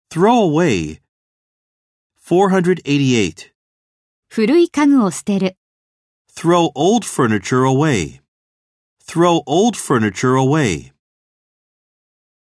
Throw away. 488. 古い家具を捨てる。 Throw old furniture away. Throw old furniture away.